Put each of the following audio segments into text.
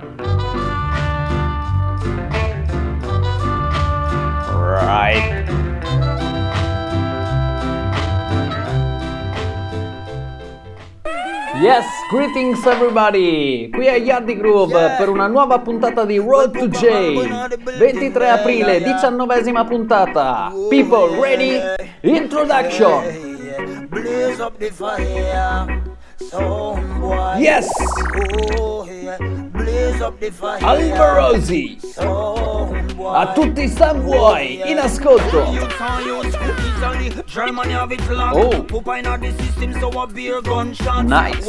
Right. Yes, greetings everybody! Qui è Yardi Groove per una nuova puntata di Road to J. 23 aprile, 19esima puntata. People ready? Introduction! Yes! Alvarosi! A tutti i Sunboy in ascolto! Oh! Nice!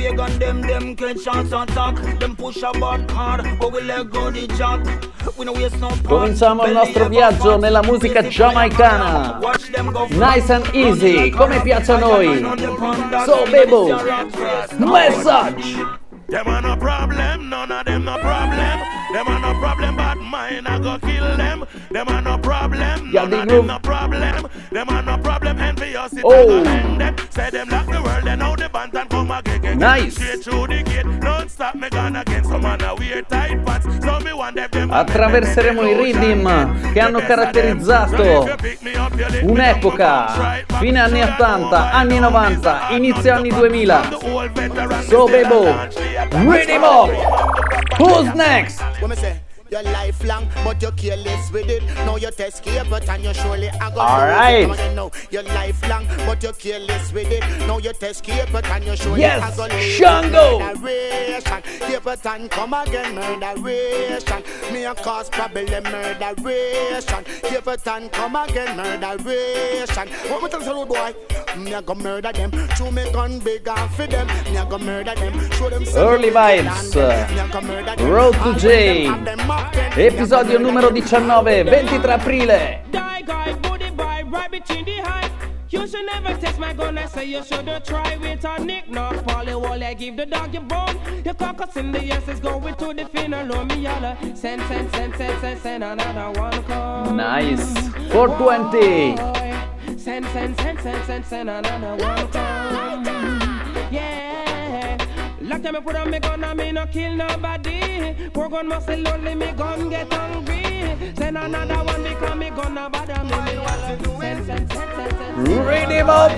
Cominciamo il nostro viaggio nella musica giamaicana. Nice and easy, come piace a noi. So Bebo, Message. Them are no problem, none of them no problem. Them are no problem, but mine I go kill them. Them are no problem, none of them no problem. Them are no problem, envious it Oh. end them. Say them lock the world, then now the band and come again. Nice. Straight through the gate, don't stop me gone again. Some man a wear tight pants, so me want them. Attraverseremo i rhythm che hanno caratterizzato un'epoca, fine anni 80, anni 90, inizio anni 2000. So Bebo, Rhythm Up! Who's next? Your lifelong, but you're careless with it. Now you test but and you surely are gonna Alright. lose it. You know, you're lifelong, but you're careless with it. Now you test but and you surely Yes, are gonna lose it. Shango. Murderation, Capleton, come again, murderation. Me a cause problem, murderation. Capleton, come again, murderation. What me tell you, boy? Me a go murder them. Show me gun big and for them. Me a go murder them. Show them Early Vibes, Road to J, episodio numero 19, 23 aprile. Die guy, booty boy, right between the height. You should never test my gun, I say you should try with a nick. Not Polly Wall, I give the dog your bone. Your caucus in the yes is going to the funeral. Me yalla, send another one come. Nice, 420. Send another one come. Yeah. Last time I put on me gun, I me no kill nobody. Poor gun must say lonely, me gun get hungry. Send another one because me gun no bother me. Send. Rhythm Up!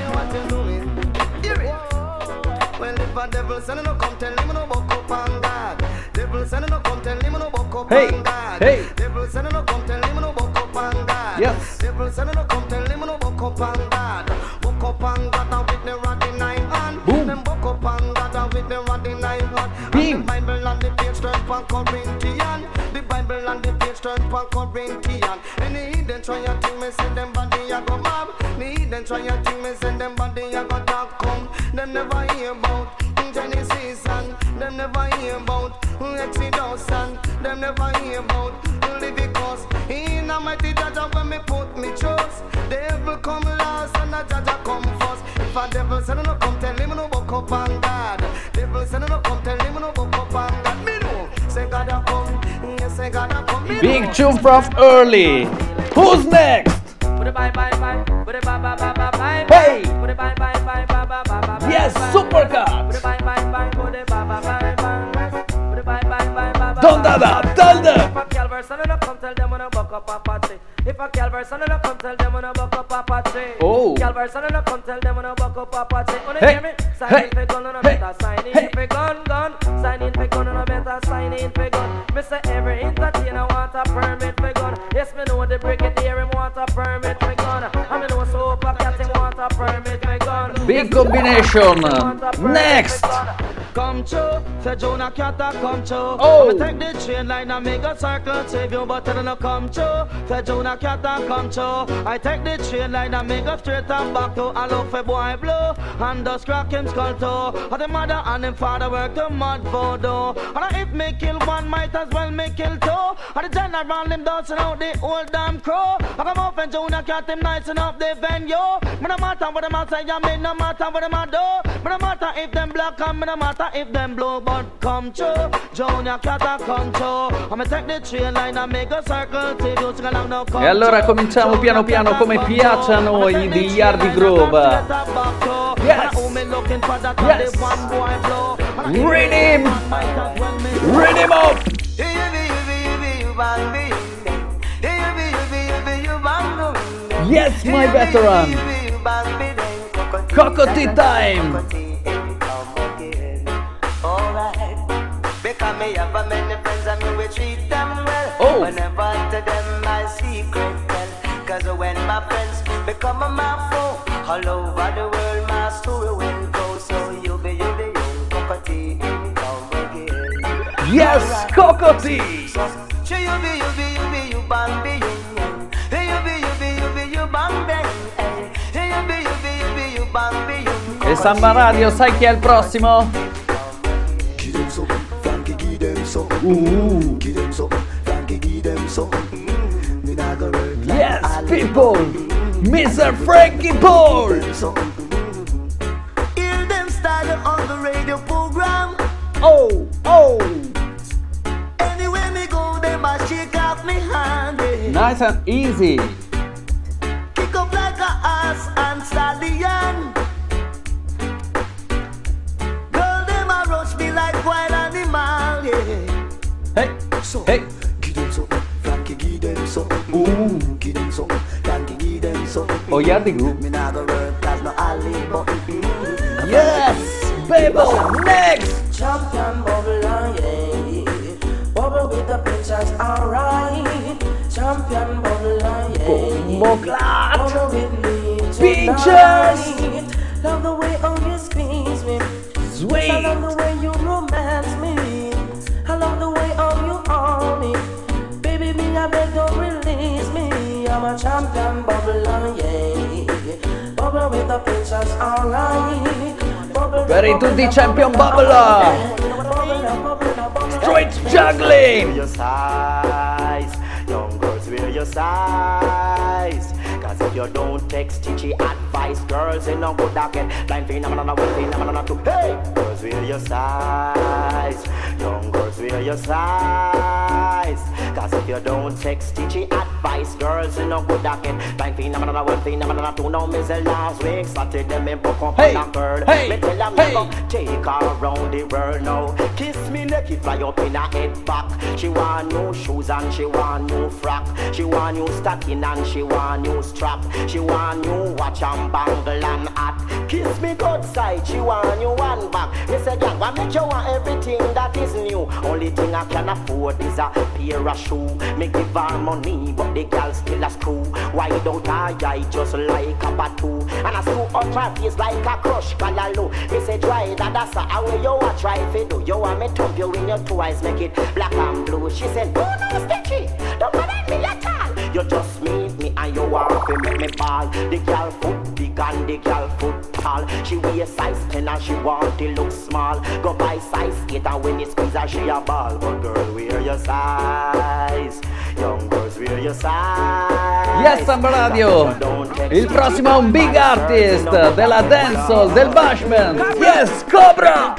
Well, if a devil send no come tell him no buck up on God. Devil send no come tell him no buck up Hey, on God. hey. Devil send no come tell him no buck up on God. Yes. Devil send no come tell him no buck up on God. Buck up on God and with the rod in nine hand. Boom. Them buck up on God and with the rod in nine hand. Beam. And the Bible and the page turn for Corinthian. The Bible and the page turn for Corinthian. Any heathen try a thing, me say them body a go mob. The heathen try a thing, me say them body a go talk come. Them never hear about Genesis and them never hear about Exodus and them never hear about Leviticus. In a mighty judge when me put me trust. Devil come last and a judge come first. If a devil say no come tell him no buck up on God. Devil say no come tell him no buck up on God. Me know say God a come, yes say God a come. Big tune from Early. Who's next? Hey! Yes, Supercut! Don't tell them! If a Calvary son no come tell them when I buck up a party. If a Calvary son no come tell them when I buck up a party. Oh. Calvary son no come tell them when I buck up a party. Wanna Hey. hear me? Sign Hey. in for gun and I Hey. better sign in Hey. for gun. Sign in for gun and I better sign in for gun. Me say every entertainer want a permit for gun. Yes, me know the brigadier him want a permit for gun. I me know so up a cat him want a permit for gun. Big combination. Next! Come true, say Jonah Catter come true. Oh. I'ma take the train line and make a circle, save you, but tell no come true. Say Jonah Catter come true. I take the train line and make a straight and back to a low for boy blue. And just crack him skull too. And the mother and him father work the mud voodoo. And if me kill one, might as well me kill two. And the general him dancing out the old damn crow. I come up and Jonah Cat him nice enough the venue. Me no matter what them a say, I mean no matter what them a do. Me no matter if them black and me no matter if them blue, but come true. Junior Cat come true. I'ma take the train line and make a circle. See you sing along now. E allora cominciamo piano piano come piace a noi di Yardi Groove. Yes! Yes! Rhythm! Rhythm up! Yes, my veteran! Cocoa-Tea time! Because me have a many friends and me will treat them well. Oh. Whenever to them my secret tell. Cause when my friends become my foe, all over the world my story will go. So you be young Cocoa-Tea come again. Yes, Cocoa-Tea! So you be you bang you bang bang. You be you bang E Samba Radio, sai chi è il prossimo? Yes, people! Mr. Frankie Paul! Hear them style on the radio program. Oh, oh! Anywhere me go, they must shake off me hand. Nice and easy! Kick up like a ass and stallion. Girl, them a rush me like wild animal, yeah. Hey, So, hey! give them some, Frankie, give them some. Give them some, Frankie, give them some. Oh, Yardi Group. Me nah go work, that's no alley, but Yes, Babel, next! Champion bubble, yeah. Bubble with the pictures, alright. Champion bubble, yeah. Bomboclat! Bubble with me Pictures! tonight. Love the way how you squeeze me. I Sweet! love the way you romance me. I love the way how you own me. Baby, me I beg don't release me. I'm a champion bubble, yeah. Bubble with the pictures, alright. Per i tutti champion bubble! Street juggling! Your size, young girls wear your size. Cause if you don't take stitchy advice, girls in no good get blind phenomenon, one phenomenon two. Hey, girls wear your size, young girls wear your size. Cause if you don't take stitchy advice, girls in no good get blind phenomenon, one phenomenon two. Now me say last week Saturday me book up Hey, on a girl. hey, Me tell her me hey. go take her around the world now. Kiss me neck it fly up in her head back. She want new shoes and she want new frock. She want new stocking and she want new strap. She want new watch and bangle and hat. Kiss me good side, she want new one back. Me say girl, what make you want everything that is new? Only thing I can afford is a pair of shoe. Me give her money, but the girl still a screw. Why don't I just like a batu? And I screw up her face like a crush callaloo. Me say try that, that's how you a try fi do. You want me thump you in your two eyes, make it black and blue. She said, oh no, Stitchy, don't bother me at all. You just meet me and you want to make me ball. The girl foot big and the girl foot tall. She wear size 10 and she want to look small. Go buy size 8 and when you squeeze her she a ball. But girl, wear your size. Young girls, wear your size. Yes, Samba Radio! Il prossimo è un big artist della dancehall, del bashment! Yes, Cobra!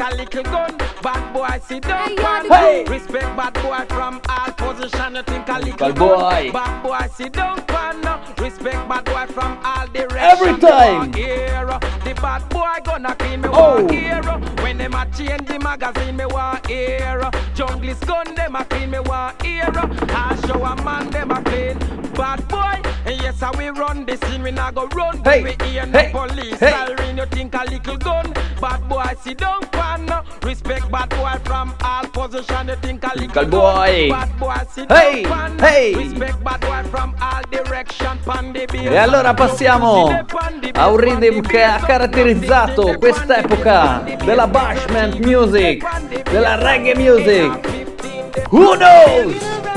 Bad boy, sit down, Hey! respect bad boy from all position. You think a little Bad boy. Bad boy, sit down, pan. Respect bad boy from all directions. Every time. The bad boy gonna clean me Oh. one ear. When them a change the magazine, me want ear. Jungle gun, them a clean me one ear. I show a man, them a clean. Bad boy, and yes, how we run the scene. We not go run, Hey. we hear Hey. no police. Hey. Siren, you think a little gun. Bad boy, sit down, pan. Respect bad boy from all position. You think a little Bad boy. gun. Bad boy, sit Hey. down, pan. Hey. Respect bad boy from all direction. Pan the beer. E allora passiamo a un rhythm che ha caratterizzato quest'epoca della bashment music, della reggae music. Who knows?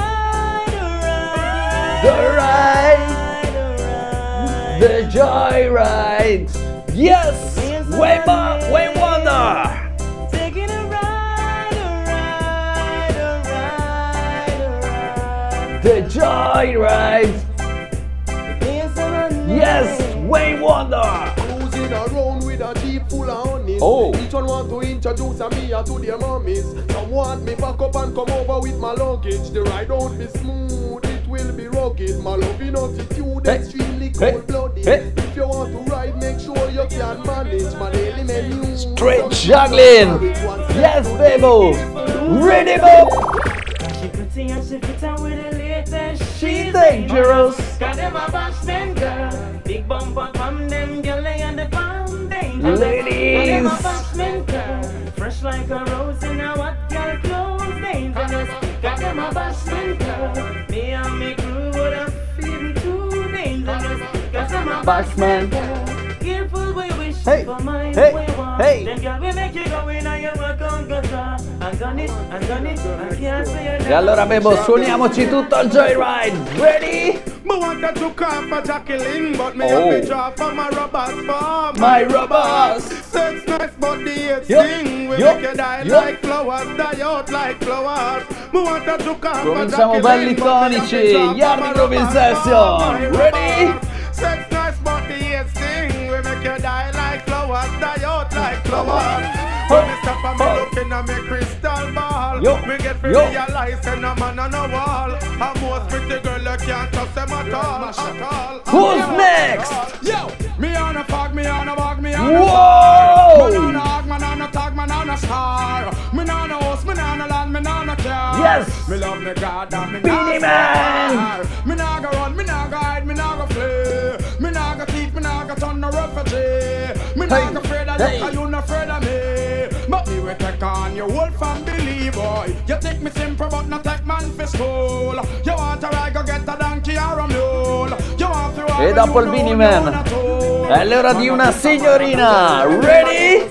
The ride, the joyride. Yes, Wayne Wonder. Taking a ride. The joyride. Yes, Wayne Wonder. Cruising around with a jeep full of honeys. Oh. Each one want to introduce a me to their mummies. Some want me back up and come over with my luggage. The ride won't be smooth, it will be rugged. My loving attitude Hey. extremely Hey. cold-blooded. Hey. If you want to ride, make sure you can manage my daily menu. Straight juggling. Yes, baby. Ready, Bob? She pretty and she fit on with the latest. She's dangerous. Got them a bashman girl. Big bumper from them girl and the pound dangerous. Ladies. Got them a bashman girl. Fresh like a rose in a what girl clothes dangerous. Got them a bashman girl. Me and me crew would have feeling too dangerous. Got them a bashman girl. Careful where you wish Hey, for mine. hey, hey. Them girl will make you go in and you work on guitar. And done it, I can't say it. E allora Bebo, suoniamoci tutto il Joyride. Ready? Me want to took off for Jacqueline, but me have to drop for my robots for My robots. Sex nice, but the hate Yup, thing we yup, make you die yup. like flowers, die out like flowers. Me want to took off for Cominciamo belli tonici. Yardi Groove in session. Ready? Sex nice, but the hate thing we make you die like flowers, die out like flowers. When me stop and me looking at me crystal ball, Yo, me get free yo. realize and a man on a wall. A most pretty girl you can't trust them at all. Who's next? Yo, me on a fog, me on a bog, me on a Whoa! fire. Me on a hog, man on a tag, man on a star. Me on a house, me on a land, me on a car. Yes. Me love me God and me Beanie Man. Me nah go run, me nah go hide, me nah go flee. Me nah go thief, me nah go turn no refugee. Me nah go afraid of you, 'cause you not afraid of me. But me will take on your whole family, boy. You take me simple, but not take man for school. You want to ride, go get a donkey or a mule. You want to E dopo il Beanie Man è l'ora di una signorina. Ready?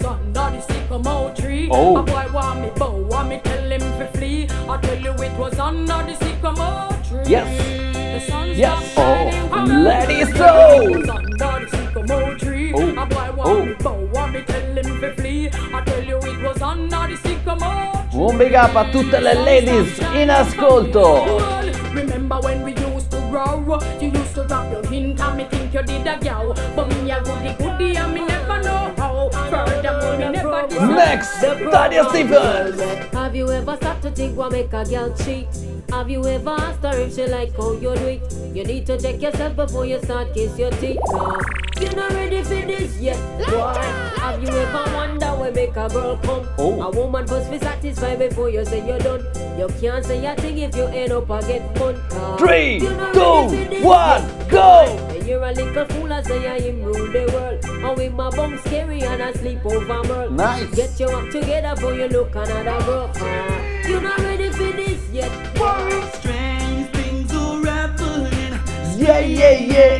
Oh. A boy want me bow, want me tell him to flee. I tell you it was under the sycamore tree. Yes. The sun's Yes. not shining, Oh, come let it on. go. It was under the sycamore tree. Oh. A boy want me bow, want me tell him to flee. I tell you it was under the sycamore tree. Un big up a tutte le ladies in ascolto. Remember when we used to row? You used to drop your hint and me think you did a gal. But me a goody and me never know how. Furthermore, me never did. Next, Tanya Stephens. Have you ever stopped to think what make a girl cheat? Have you ever asked her if she like how you do it? You need to check yourself before you start kiss your teeth. Cause you're not ready for this yet, boy. Have you ever wonder what make a girl come? A woman must be satisfied before you say you're done. You can't say a thing if you end up a get fun. 3, 2, 1, go! And you're a little fool and say I him rule the world. And with my bum scary and I sleep over Merle. Nice. Get your act together before you look another girl. You're not ready for this yet. Strange things are happening. Yeah, yeah, yeah.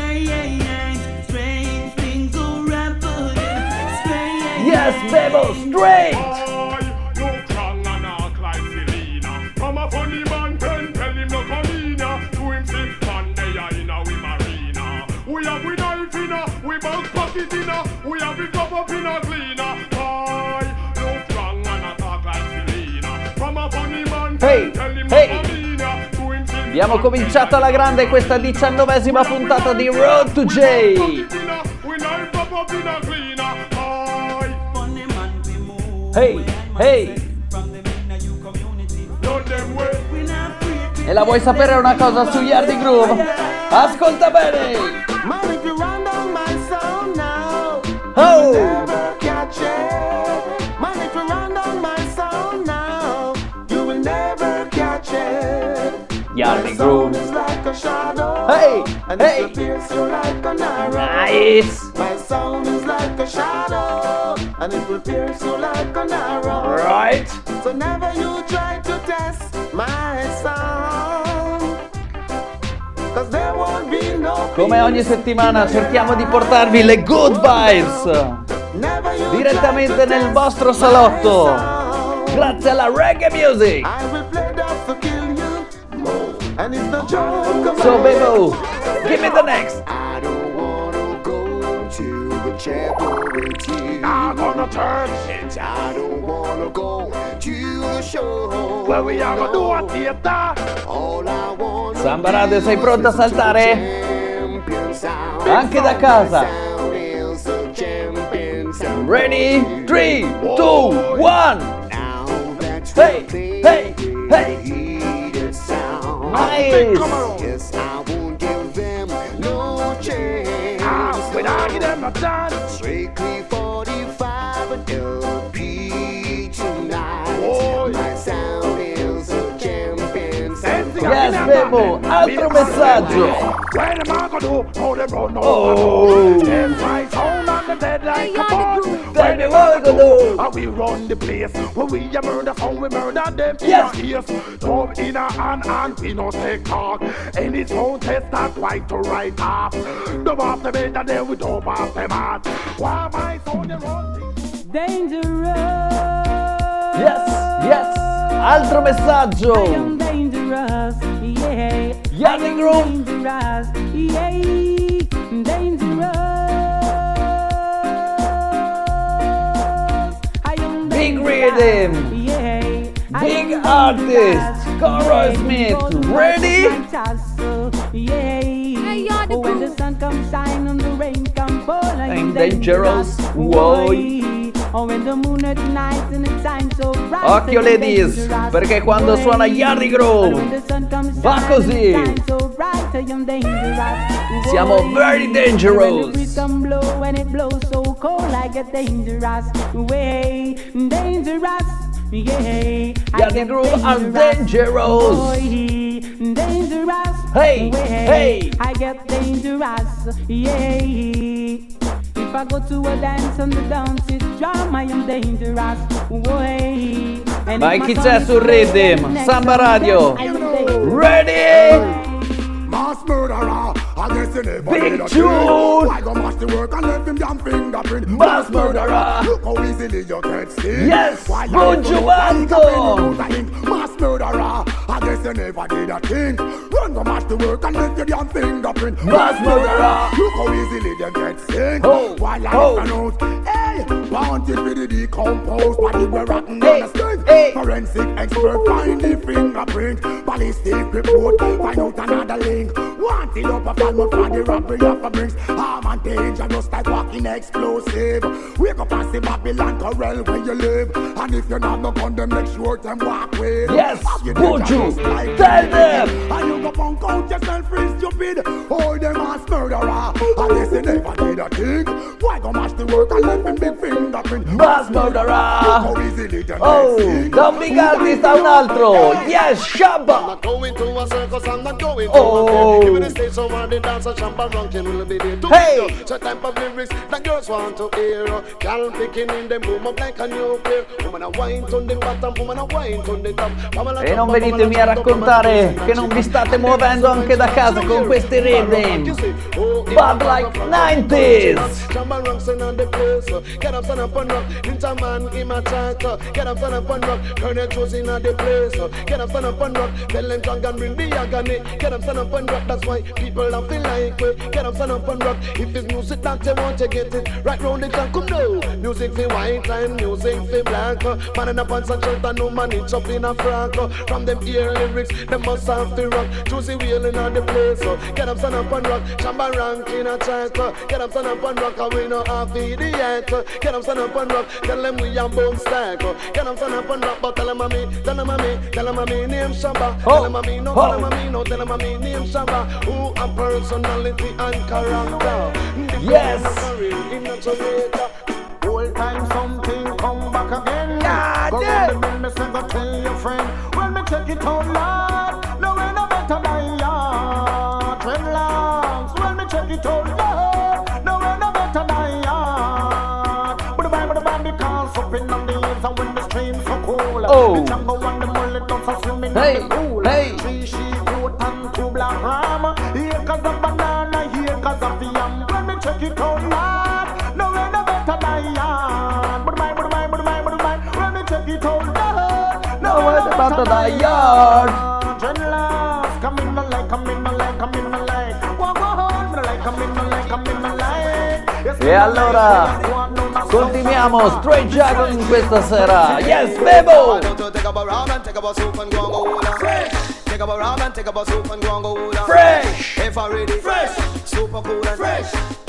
Strange things are happening. Strange. Yes, Bebo, straight. Boy, no strong and act like Selena. From a funny man, tell him no come in ya. To him say, man, they are in a we marina. We have we knife in a, we bounce pocket in a, we have it up in a cleaner. Boy, no strong and act like Selena. From a funny man, Hey, tell him hey. no come in ya. To him say, Abbiamo cominciato alla grande questa 19ª puntata di Road to J. we knife up in a cleaner. Boy, Funny man, we move. Hey, hey. From the inner you community. know them way. We not free. E la vuoi sapere una cosa su Yardi Groove? Ascolta bene. Man, if you run down my sound now, Oh. never catch it. Man, if you run down my sound now, you will never catch it. Yardi My sound Groove. is like a shadow, Hey, and hey. it pierces you like an arrow. Nice. My sound is like a shadow, and it will pierce you like an arrow. Right. So never you try to test my sound, 'cause there won't be no Come ogni settimana cerchiamo di portarvi le good vibes Never you direttamente try to nel test vostro my salotto. sound. Grazie alla reggae music. I will play that to kill you, and it's no joke. So Bebo, give me the next. I don't wanna go to the chapel with you. I'm gonna turn. And I don't wanna go to the show. Where we are gonna do a theater. All I want Samba Radio, sei pronta a saltare? champion sound. Anche da casa. Sound is a champion sound. Ready? 3, 2, 1. Now that's Hey, what they hey, hey. heated sound. Nice. Yes, I won't give them no chance. When I get them a dance. Strictly 45 LP tonight. Oh, My Yes, Bebo, altro messaggio. Where the man go do? How they run now? Oh. Them right sound on the dead like a bug. Tell me what we go do. And we run the place. When we a murder sound, we murder them. Yes. Yes. Thumb in a hand, we no take talk. Any sound test that right to right half. Dub off the bed and then we dub off them heart. Why my sound you run? Dangerous. Yes, altro messaggio. I am dangerous, yeah. Yardi Groove. Dangerous, yeah. Dangerous. I am Big dangerous, rhythm. yeah. I Big am artist. dangerous, Cora yeah. Smith. Because Ready? my tassel, yeah. Yardi Oh, when the Groove. sun comes shine and the rain comes fall, I I'm am dangerous, whoa. why? Oh, when the moon at night and it shines so bright. Occhio I am ladies, dangerous, perché quando why? suona Yardi Groove When the sun comes va shine così. and it shines so bright, I am dangerous, Siamo why? very When the dangerous. breeze come blow and it blows so cold, I get dangerous, way dangerous. Yeah, I Yardi get Groove are dangerous. boy, dangerous. Hey, way, hey. I get dangerous. Yeah, if I go to a dance and the dance is drum, I am dangerous. Way. And Vai, if chi my c'è song su is Rhythm? playing Samba next Radio. to the dance, I am dangerous. Ready? Mass murderer, I guess you never Big did a tune. thing. Why go mash the work and left him damn fingerprint? Mass murderer. Look how easily you get seen. Yes, Why you Buju never know Banton. that you mass murderer, I guess you never did a thing. Run go mash the work and left your damn fingerprint. Mass murderer. Look how easily you get seen. Oh, Why you oh. never know? Hey, wanted for the decomposed body were rotten Hey, on the street. hey. Forensic expert find the fingerprint. Ballistic report find out another link. Wanted up a fan for the robbery of a brings. Arm and danger just like walking explosive. Wake up and see Babylon corral where you live. And if you're not no gun, then make sure them walk with. Yes, Have you Buju, dangerous like tell me? them. And you go punk out yourself free stupid. Oh, them ass murderer. And they say never did a thing. Why go mash the work and left him big fingerprint? Mass murderer. Look how easily them Oh, get seen. da un big artist a un altro. Yes, I'm Shabba. not going to a circus, I'm not going to Oh. a fair. Give me the stage so the dancer, Shamba Rankin will be there to Hey. hear. So type of lyrics that girls want to hear. Girl picking in them boom up like a nuclear. Woman a wine on the bottom, woman a wine on the top. E non venitemi a raccontare che non vi state muovendo anche da casa con questi rhythm. Bad like 90s. Shamba Rankin on the place. Get up, stand up and rock. Ninja man in my chat. Get up, stand up and rock. Colonel choosing on the place. Get up, stand up and rock. Tell them drunk and bring the agony. Get up, stand up and rock. That's why people don't feel like we. Get up, stand up and rock. If it's music that they want to get it right round the clock, come now. Music for white and music for black. Man in a pants and shirt and no man it's up in a frock. From them ear lyrics, them must have to rock. Choosy wheeling on the place. Get up, stand up and rock. Shamba Rankin a chat. Get up, stand up and rock. And we know half idiot. Get up, stand up and rock. Tell them we are bone stack. Get up, stand up and rock. But tell them a me, tell them a me, tell them a me name Shamba. Tell them a me, no, tell them a me, no, tell them a me name Shamba. Who a personality and character. Yes. Whole time something come back again. God Go damn. round the bend, me say go tell your friend. When me check it out loud, no way no better than ya. Dreadlocks. When me check it out loud, no way no better than ya. But the band because up in on the hills and when the streams so cool. Oh. The jungle and the mullet dogs are swimming Hey, in the pool. hey. 3 sheep, goat and 2 black ram. Here cause of banana, here cause of yam. When me check it out loud, no way no better than ya. But my, when me check it out loud, No way no better than yard. Dreadlocks, come in the light, come in the light, come in the light. Walk on, me like, come in the light, come in the light. Yes, E allora continuiamo straight juggling questa sera. Yes, Bebo. Take up a rum and take up a soup and go and go down. Take up a rum and take up a soup and go and go down. Fresh. If I ready, fresh, super cool and fresh.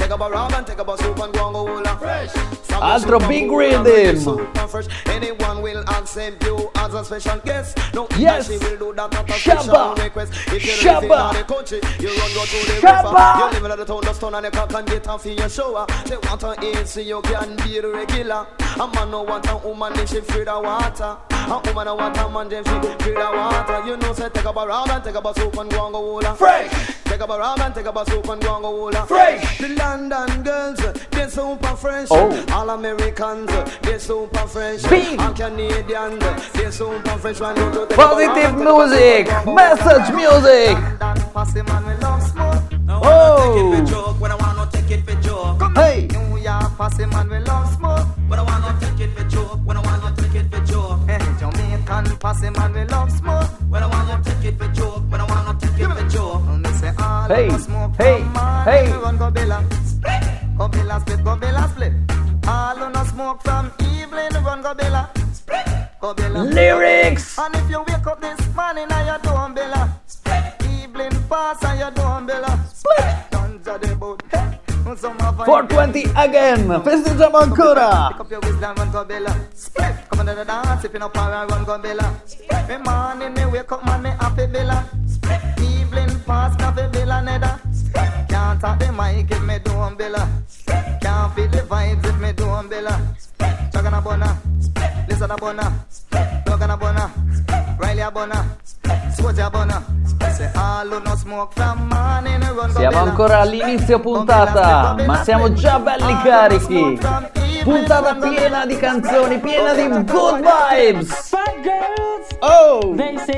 take up a rum and take up a soup and go and go hula. Fresh. Altro big rhythm. Anyone will accept you as a special guest. No, yes. she will do that at a Shabba. special request. If you live in the country, you run go to the Shabba. river. You live in the town, the stone and the cock and get off in your shower. They want to eat so you can be the regular. A man no want a woman, they should feed the water. A woman no want a man, they should feed the water. You know, say take up a rum and take up a soup and go and go hula. Fresh. Take up a rum and take up a soup and go and go hula. Fresh. The London girls, they're super fresh. Oh. All Americans, they're super fresh. Big. And Canadians, they're super fresh. When you do take Positive music, message music. Passy man, we love smoke. Oh. When I want to take it for joke. Hey. New York, passy man, we love smoke. When I want to take it for joke. When I want to take it for joke. Jamaican, passy man, we love smoke. When I want to take it for joke. When I want to take it for joke. Say all Hey. of us smoke Hey. from man. Hey. Run go Bella. Go Bella split, go Bella split. All of us smoke from Evelyn. Run go Bella. Go Bella. Lyrics. And if you wake up this morning and you don't Bella. Evelyn pass and you don't Bella. Tons of the boat. 420 again, festeggiamo ancora. Pick up your wisdom, run go Bella. Come on to the dance, if you no power, run go Bella. Me morning, me wake up, man, me happy Bella. Evening pass, me happy Bella, nether. Can't talk the mic if me do Bella. Can't feel the vibes if me do Bella. Chagana Bona, Listen a Bona, Logan a Bona, Riley a Bona, Swatch a Bona. Say all who no smoke from morning, run go Bella. Siamo ancora all'inizio puntata, ma siamo già belli carichi. Puntata piena di canzoni, piena di good vibes. Oh!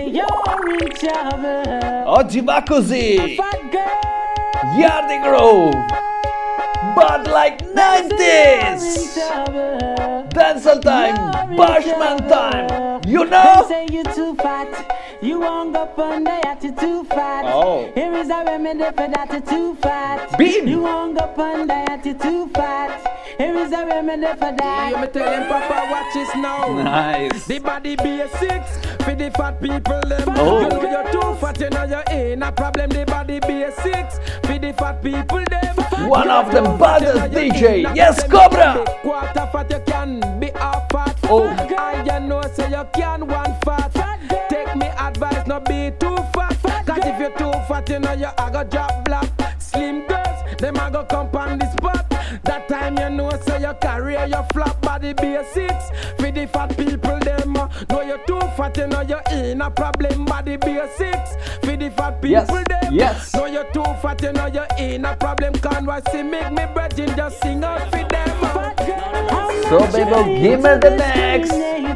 Oggi va così. Yardy Groove, but like 90s. Dancehall time, Bashman time. You know? They say you too fat. You hung up on the yacht, you too fat. Oh. Here is a remedy for that, you too fat. Beam. You hung up on the yacht, you too fat. Here is a remedy for that. You me tell him, Papa, watch this now. Nice. The body be a 6 for the fat people them. Oh. You know you're too fat, you know you ain't a problem. The body be a 6 for the fat people them. One of the baddest DJ, yes, Cobra. Quarter fat you can be half fat. Oh. I you know say you can one fat. Take me advice, not be too fat. Cause if you're too fat, you know you a go drop black. Slim girls, them a go come on the spot. That time you know say you carry your flap body be a 6 for the fat people them. Know you're too fat, you know you ain't a problem. Body be a 6 for the fat people them. Yes. Know you're too fat, you know you ain't a problem. Can't watch see make me brethren just sing out for them. So baby, give me the next.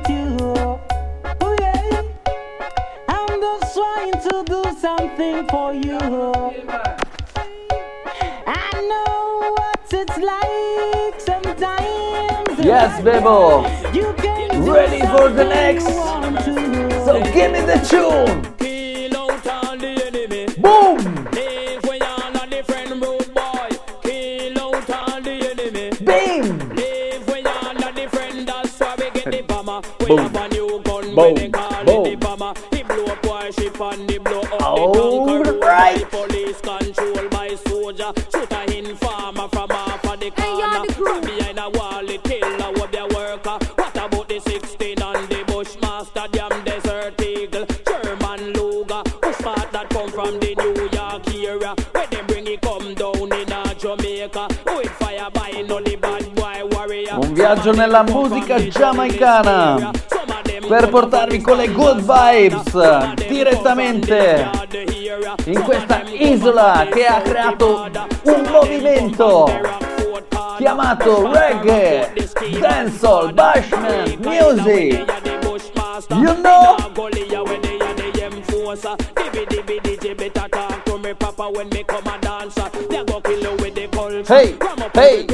I'm just trying to do something for you. I know what it's like sometimes. Yes, Bebo. You can Ready for the next. So give me the tune. Kill out all the enemy. Boom. Live where you're not different road boy. Kill out all the enemy. Beam. Live where you're not different. That's why we get the bomber. We Boom. have a new gun. Boom. When they call it the Boom. bomber. He blow up our ship and he blow up All the conqueror. right. By police control by soldier. Shoot a informer from off of the corner. From behind a wall it kill a web their worker. What about the 16 and the Bushmaster? Damn Desert Eagle. German Luger. Who smart that come from the New York area? Where they bring it come down in a Jamaica. With fire by no the bad boy warrior. Un viaggio nella musica giamaicana per portarvi con le good vibes direttamente in questa isola che ha creato un movimento chiamato reggae, dancehall, bashment, music. You know? Hey, hey.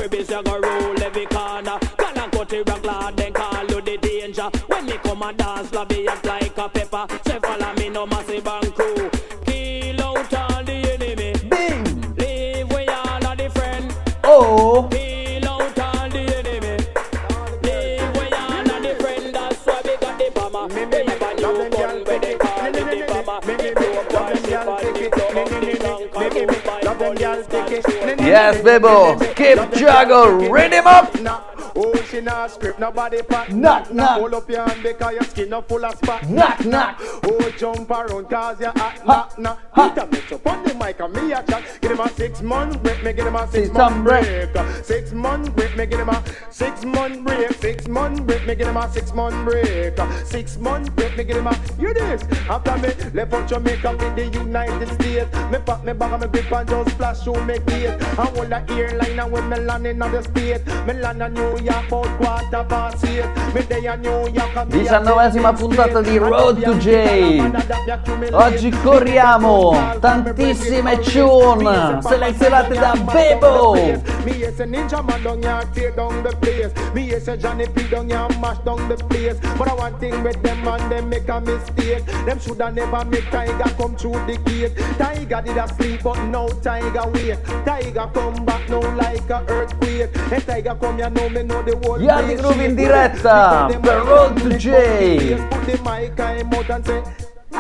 When me come and dance, lobby act like a pepper. Say follow me, no massive and crew. Kill out all the enemy. Bing. Live where y'all are the friend. Oh. Kill out all the enemy. Live where y'all are the friend. That's why we got the bomber. We have a new gun where they call it the bomber. We blow up our ship and we blow up the tank. And we buy police control. Yes, Bebo. Keep juggle. Read him up. Oh, she not script, nobody pack. Knock, knock. Hold up your hand because your skin up full of spot. Knock, knock. Oh, jump around cause you're hot, knock, knock. Hit a mix up on the mic and me a chat. Give him a 6 month break, me give him a 6 month break. 6 month break, me give him a 6 month break. 6 month break, me give him a 6 month break. 6 month break, me give him a, you this. After me, left out Jamaica with the United States. Me pack me bag and me grip and just splash through me gate. And hold the airline and when me land in the state. Me land a New York about 8:15. Me day a New York and 19esima puntata di Road to J. Oggi corriamo tantissime tune selezionate da Bebo. Me say Ninja Man down here tear down the place. Me say Johnny P down here mash down the place. But I one thing with them and them make a mistake. Them shoulda never make Tiger come through the gate. Tiger did a sleep but now Tiger wake. Tiger come back now like a earthquake. And Tiger come here now me know the whole place. Yardi Groove in diretta per Road to J. Put the mic in mouth and say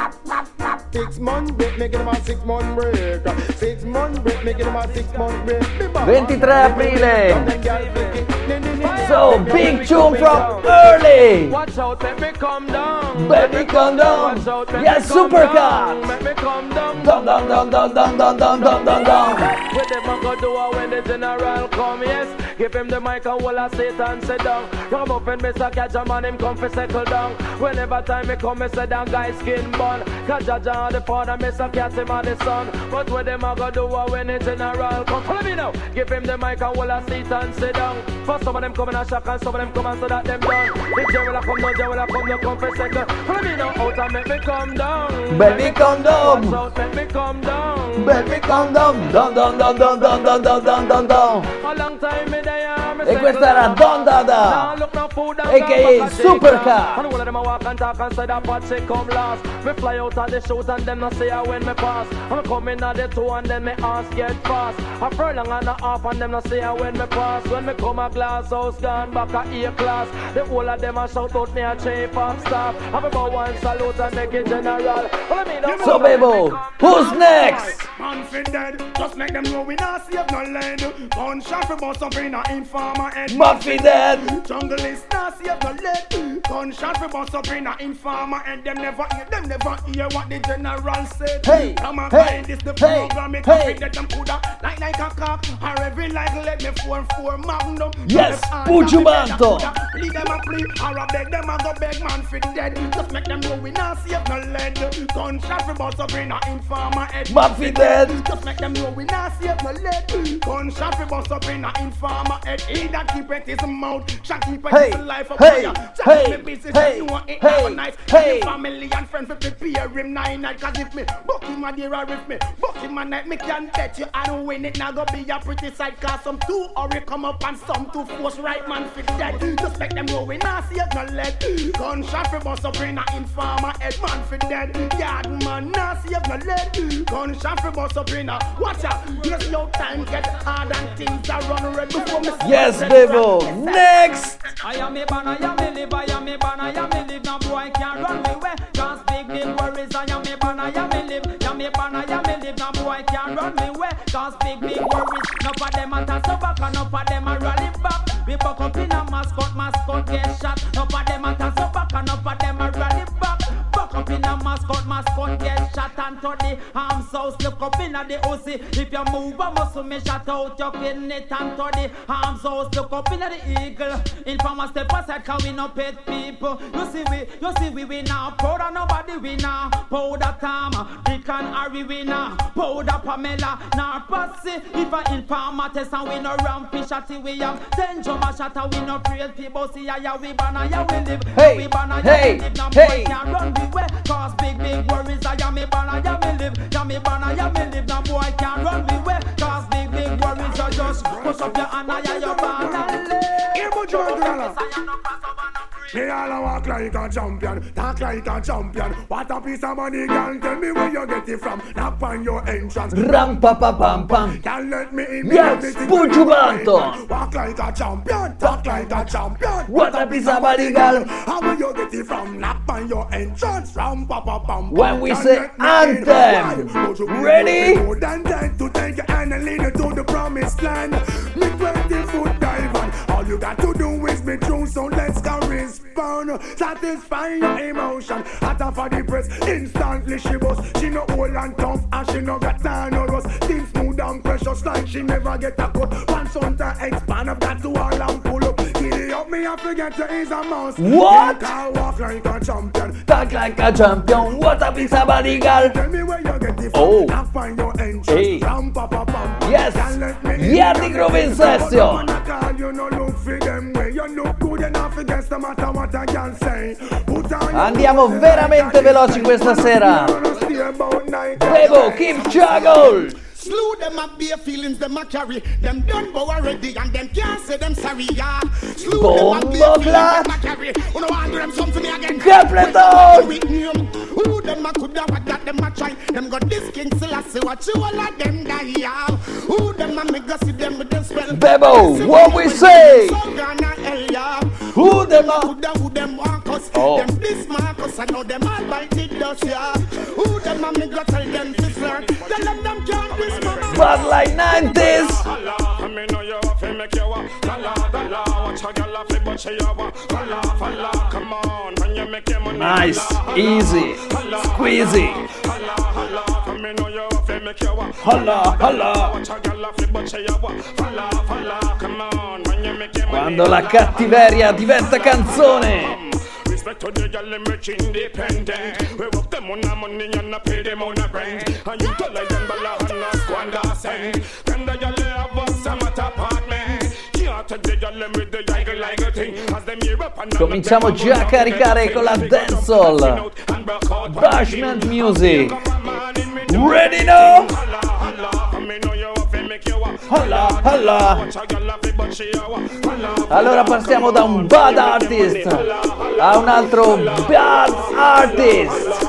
6 month break, make it about 6 month break. 6 month break, make it about 6 month break. 23 aprile. So big tune from early. Watch out, let me come down. Baby come down. Yes, Supercut. Let me come down. Down, down, down, down, down, down, down, down, down, down. What them a go do when the general come, yes. Give him the mic and walla Satan sit down. Come up and Mr. Kaja man him come for settle down. Whenever time me come, me say down guy skin bun. Kaja John the father, Mr. Cat him and the son. But what them a go do when the general come? Follow me now. Give him the mic and walla Satan sit down. For some of them come in a shock and some of them come and so that them done. The general come, no general come, no come for second. Follow me now out and make me come down. Baby come down. Watch out, make me come down. Baby come down. Down, down, down, down, down, down, down, down, down, down. A long time me there. E questa era Don Dada, a.k.a. Supercat. And all of them a walk and talk and say that pot shit come last. Me fly out of the shoot and them not say when me pass. I'm coming at the two and then me ass get fast. A furlong and a half and them not say when me pass. When me come a glass house gone back a A class. The whole of them a shout out me a chief of staff. Have about one salute and make it general. So Bebo, who's next? Man fi dead, just make them know we not save no lead. Gunshot fi bust up in a informer head. Muffy dead. Jungle is not save no lead. Gunshot fi bust up in a informer head. Them never hear what the general said. Hey, come on, hey, find this the hey, program. It hey. that them coulda like a cock. Or every like let me 4-4 magnum. Yes, Pujubanto. Leave them a plea, or a beg them a go beg man fi dead. Just make them know we not save no lead. Gunshot fi bust up in a informer head. Muffy dead. Just make them know we not save no lead. Gunshot fi bust up in a informer head. He that keep it his mouth, shall keep it his life up fire. Hey, me busy, hey, know it hey, never nice. hey. Family and friends fi prepare him night. Cause if me book him a day or if me book him a night, me can bet you I don't win it. Now go be a pretty sight. Cause some too hurry come up and some too force right man fi dead. Just make them know we not save no lead. Gunshot fi bust up in a informer head. Man fi dead. Yard man not save no lead. Gunshot fi bust up in a watch out. You see how time get hard and things are run red before me. Yes, Bebo. Next. I am a ban, I am a live, I am a ban, I am a live. Now boy can't run me away. Cause big worries. I am a ban, I am a live. I am a ban, I am a live. Now boy can't run me away. Cause big worries. Now for them a toss up back and now for them a rally back. We buck up in a mascot get shot. Now for them a toss up back and now for them a rally back. Buck up in a mascot get shot. And to the arms house look up in a the OC. If you move a muscle me shut out your pin it. And to the arms house look up in a the eagle. Informer step aside cause we no pet people. You see we now proud of nobody we now. Powder Tom, Dick and Harry we now. Powder Pamela, now Patsy. If a informer test and we no ramfish at we have 10 drummer shatter we no afraid people see ya we banna ya we live. Hey, we banna hey, ya we live. Now hey. boy can't run the way. Cause big worries I am me banna ya we live. Ya me banna ya we live. Now boy can't run the way. Cause big worries are just push up your hand and ya your banna live. Here we go, me all a walk like a champion, talk like a champion. What a piece of money, girl, tell me where you get it from. Knock on your entrance. Ram pa pa pam pam. Can't let me in. Yes, Pujubanto. Walk like a champion, talk like a champion. What a piece of money, girl. How will you get it from? Knock on your entrance. Ram pa pa pam. When we say anthem, ready? More than that to take your hand and lead you to the promise. waistline. Me 20-foot dive on. All you got to do is be true, so let's go respond. Satisfy your emotion. Hotter for the press, instantly she bust. She no old and tough, and she no got time no rust. Things smooth and precious like she never get a cut. Once on to expand up that to all and pull up. Giddy up me, I forget to is a mouse. What? I walk like a champion. Talk like a champion. What up is a body girl? Tell me where you get the Oh. I find your entrance. Hey. Ram, pa, pa, pam. Yes. Yardi Groove in session. Andiamo veramente veloci questa sera. Bebo, keep juggle. Slew them up bare feelings, them a carry. Them done bow already and them can't say them sorry, yeah. Slew them up bare feelings, them a carry. Who no want do them something again? Capleton! Who them a coulda what that them a try? Them got this king Selassie, what you all of them die, yeah. Who them a make us see them with them spell? Bebo, what we say? Who them a coulda who them want us? Oh. Them this Marcus, I know them all bite it dust, yeah. Who them a make us tell them to learn? Tell them can't be. But like 90s. Nice, easy, squeezy. Holla, holla. Quando la cattiveria diventa canzone. Respect to the girl them rich independent. We work them on the money and not pay them on the rent. And you tell like them bala and not squander cent. Then the girl have us some at apartment. Can't take the girl them with the like a thing. As them hear up and Cominciamo già a caricare con la dancehall. Bashment Music. Ready now? Holla, holla. Allora passiamo da un bad artist a un altro bad artist.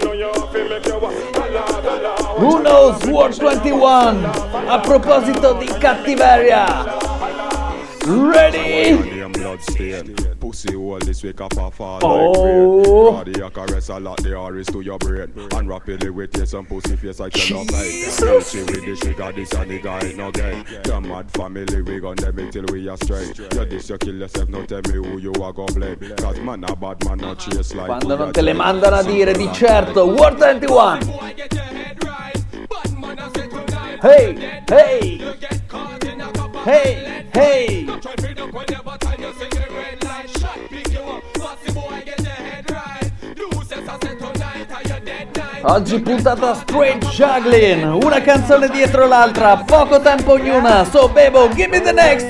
Who knows World 21? A proposito di cattiveria. Ready? Pussy all this week up a fall Oh. like rain. Caress a lot the R's to your brain. And rapidly with you some pussy face I cannot hide. She with the sugar, this and the guy no gain. The mad family we gon' them till we are straight. You this you kill yourself, no tell me who you are gon' blame. Cause man a bad man not chase like. Quando non te le mandano a dire di certo World 21. Hey, hey. Hey, hey. Oggi puntata straight juggling, una canzone dietro l'altra, poco tempo ognuna. So Bebo, give me the next.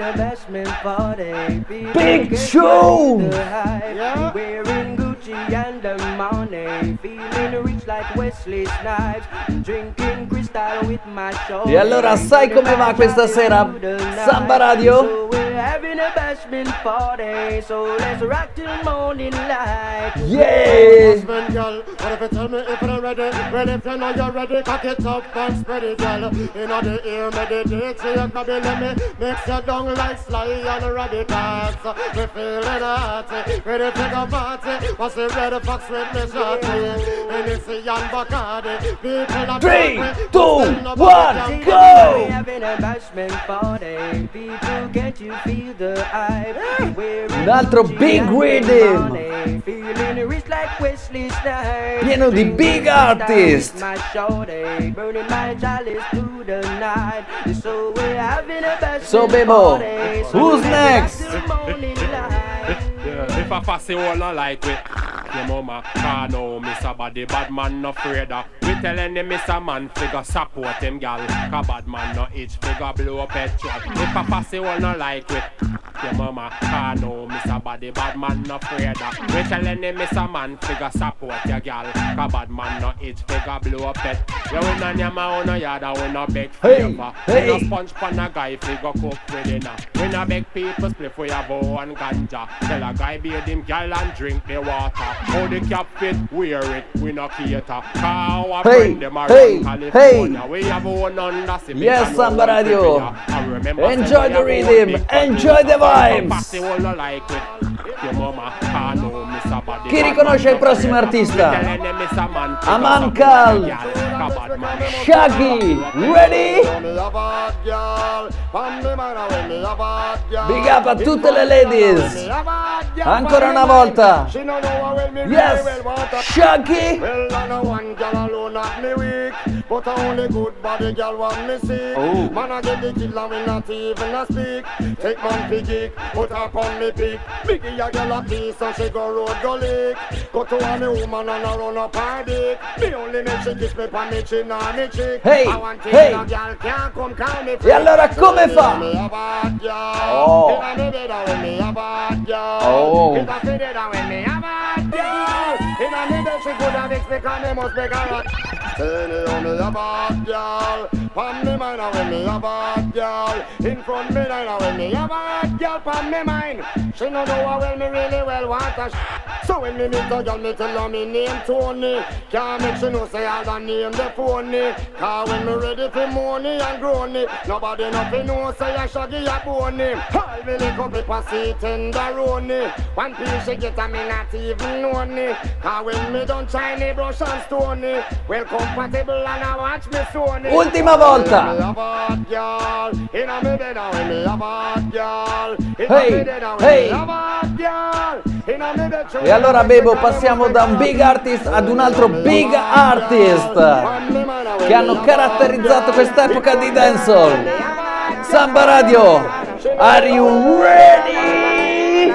Big show. Wearing Gucci and the money, feeling rich like Wesley Snipes, drinking crystal with my show. E allora sai come va questa sera? Samba Radio? Having a bashment party, so let's rock till morning light. Yeah! Bashment girl, what if you tell me if you're ready? Well, if you know you're ready, cock it up and spread it, girl. You know the ear meditate, so you can be let me mix your down like Sly and Rabbit Cats. We feeling hot, ready to go party. What's the red fox with me shorty? And it's a young Bacardi. People are 3, 2, 1, go! Having a bashment party, people, can't you feel the hype? Un altro big rhythm, Feeling rich like Wesley Snipes, pieno di big artist. my shorty, burning my chalice through the night. So we're having a bashment So Bebo, party, so who's we're next? till morning light. If I fussy all not like it, your mama can't know Mr. Body, bad man no afraid of. We telling him Mr. Man figure support him gal, cause bad man no itch figure blow up petrol. If I fussy all not like it, your mama can't know Mr. Body, bad man no afraid of. We telling him Mr. Man figure support your gal, cause bad man no itch figure blow up pet. You win on your man no yard and we no beg favor. We no sponge pan a guy figure cook with dinner. We no beg people split for your bow and ganja. Tell a guy bathe him gal and drink the water. How the cap fit, wear it, we no cater. Cause our friend them around California. We have one under cement. Yes, Samba Radio. Enjoy the rhythm, enjoy the vibes. Your mama can't know Mr. Body, Chi riconosce il prossimo artista? Amankal, Shaggy, ready? Big up a tutte le ladies. Ancora una volta. Yes, Shaggy. But only good body girl want me sick. Man I get the kill and we not even a speak. Take man piggy, put up on me pick. Biggie a girl a piece and she go road go lick. Go to a me woman and I run up her dick. Me only make she kiss me pa me chin and me cheek. Hey, I want hey. a girl can't come call me. E allora come fa? Oh. Oh. Me a bad girl, pon me mind when me a bad girl. In front me line when me a bad girl, pon me mind. She no know how well me really well want her. So when me meet a girl, me tell her me name Tony. Can't make she know say I don't name the phony. Cause when me ready for money and growny, nobody nothing know say I Shaggy a bony. All me lick up the pussy tenderoni. One piece she get and me not even know ni. Cause when me done shiny brush and stony, well compatible and I watch me Sony. Ultima volta. Hey, hey. E allora Bebo, passiamo da un big artist ad un altro big artist che hanno caratterizzato quest'epoca di dancehall. Samba Radio, are you ready?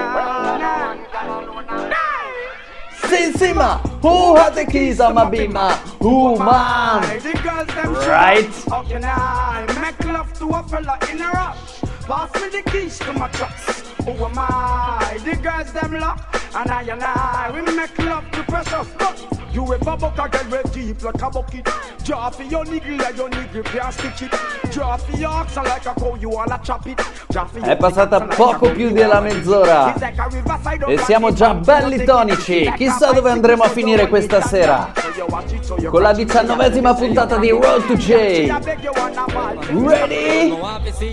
Sima, who has the keys on my beamer? Who man? Right? How can I make love to a fella in a rush? Pass me the keys to my trucks. Who am I? The girls them lock, and I, we make love to precious. You ever buck a girl with deep like a bucket? Draw for your niggle like your niggle can't stitch it. Draw for your oxen like a cow, you wanna chop it. È passata poco più della mezz'ora e siamo già belli tonici. Chissà dove andremo a finire questa sera con la 19ª puntata di Road to J. Ready?